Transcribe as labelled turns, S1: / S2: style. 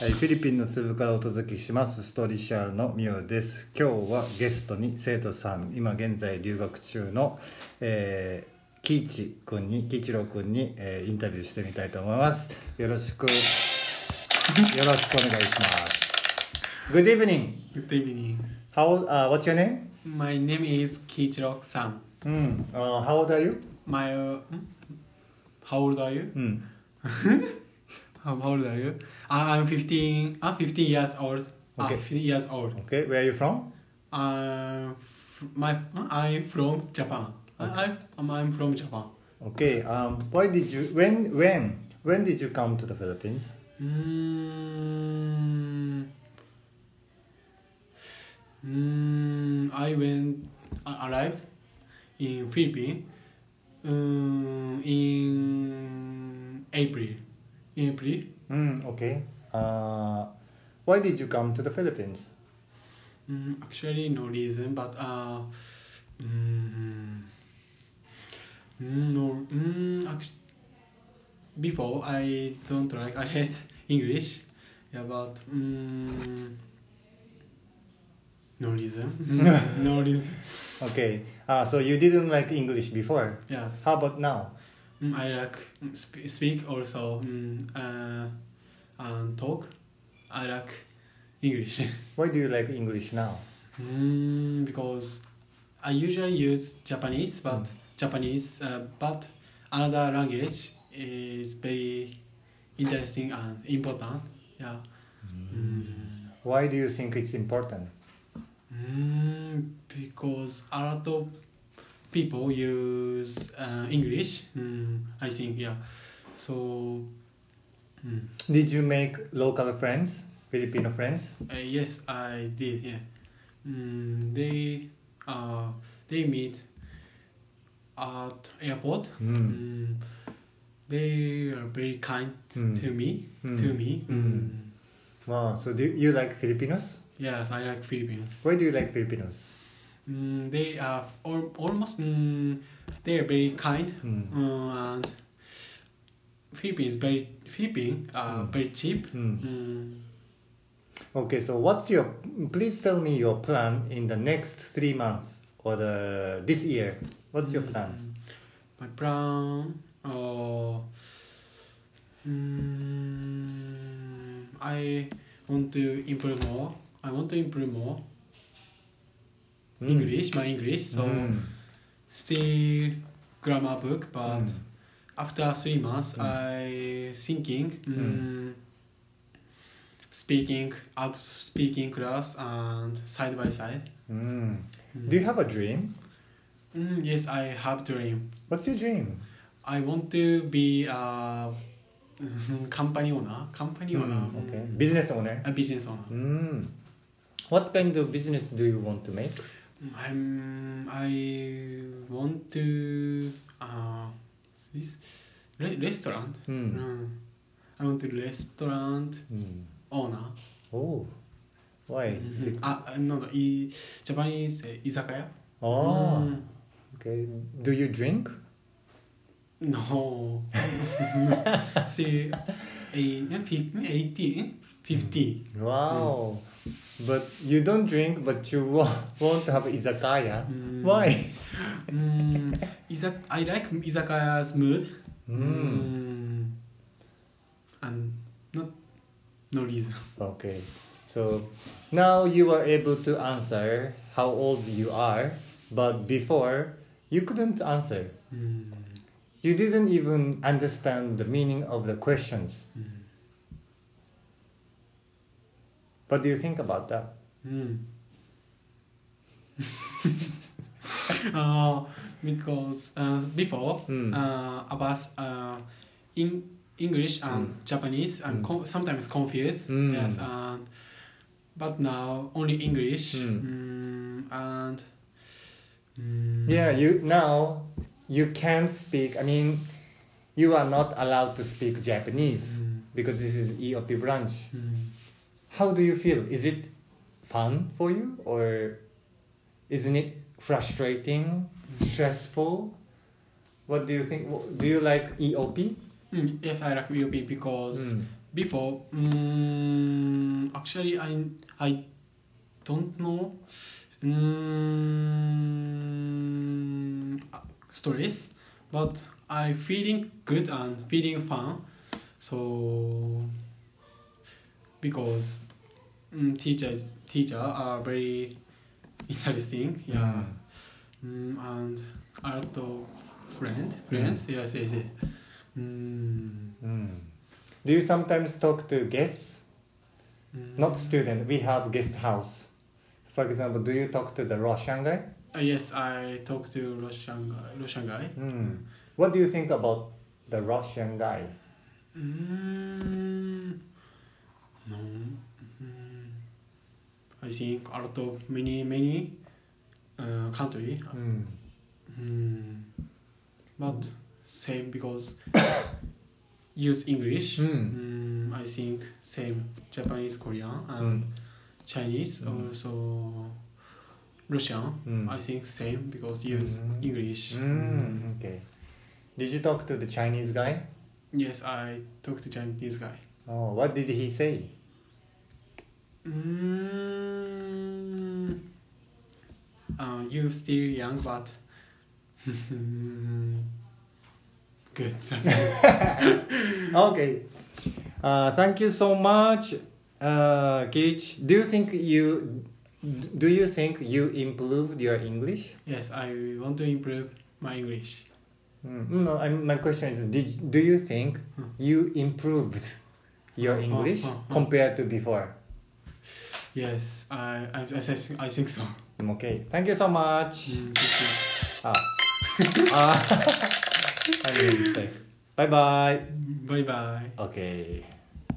S1: はい、フィリピンのスブからお届けしますストーリーシャーのミオです。今日はゲストに生徒さん、今現在留学中の、喜一郎君に、インタビューしてみたいと思います。よろしくお願いします。Good evening.
S2: Good evening.
S1: What's your name?
S2: My name is Kiichiro-san.
S1: How old are you?
S2: How old are you? How old are you? I'm 15. I'm 15 years old.
S1: Okay.
S2: 15 years old.
S1: Okay, where are you from?
S2: I'm from Japan. I'm from Japan.
S1: Okay. When did you come to the Philippines?
S2: Arrived in Philippines in April.
S1: Okay. Why did you come to the Philippines?
S2: Actually, no reason, but before I don't like. I hate English. Yeah, but no reason. No reason.
S1: Okay. So you didn't like English before.
S2: Yes.
S1: How about now?
S2: I like speak also and talk. I like English.
S1: Why do you like English now?
S2: Because I usually use Japanese, but but another language is very interesting and important. Yeah.
S1: Why do you think it's important?
S2: Because a lot of people use English. I think, yeah. So.
S1: Did you make local friends, Filipino friends?
S2: Yes, I did. Yeah. They meet at airport. They are very kind to me.
S1: Wow. So do you like Filipinos?
S2: Yes, I like Filipinos.
S1: Why do you like Filipinos?
S2: They are almost. They are very kind and Philippines very cheap.
S1: Okay, so please tell me your plan in the next 3 months or this year. What's your plan?
S2: My plan, I want to improve more. English, my English. So still grammar book, but after 3 months, I thinking speaking class and side by side.
S1: Do you have a dream?
S2: Yes, I have dream.
S1: What's your dream?
S2: I want to be a company owner.
S1: Okay. Business owner.
S2: A business owner.
S1: What kind of business do you want to make?
S2: I want to restaurant. I want to restaurant owner.
S1: Oh, why?
S2: Japanese izakaya.
S1: Oh, okay. Do you drink?
S2: No. See, 50.
S1: Wow. But you don't drink, but you want to have izakaya. Why?
S2: I like izakaya's mood. And no reason.
S1: Okay. So now you are able to answer how old you are, but before you couldn't answer. You didn't even understand the meaning of the questions. What do you think about that?
S2: Because before about in English and Japanese, I'm sometimes confused. Yes, but now only English and
S1: you can't speak. I mean, you are not allowed to speak Japanese because this is EOP branch. How do you feel? Is it fun for you, or isn't it frustrating, stressful? What do you think? Do you like EOP?
S2: Yes, I like EOP because before, actually, I don't know stories, but I feeling good and feeling fun. So because teacher are very interesting, yeah, and a lot of friends, yes.
S1: Do you sometimes talk to guests? Not student. We have guest house. For example, do you talk to the Russian guy?
S2: Yes, I talk to Russian guy.
S1: What do you think about the Russian guy?
S2: No. I think a lot of many country. But same because use English. I think same Japanese, Korean, and Chinese, also Russian. I think same because use English.
S1: Okay. Did you talk to the Chinese guy?
S2: Yes, I talked to Chinese guy.
S1: Oh, what did he say?
S2: You still young, but good. That's good.
S1: Okay. Thank you so much, Keich. Do you think you improved your English?
S2: Yes, I want to improve my English.
S1: No, my question is, do you think you improved your English compared to before?
S2: Yes, I think so.
S1: Okay, thank you so much.
S2: Thank
S1: I made a mistake. Bye bye.
S2: you. Bye bye.
S1: Okay.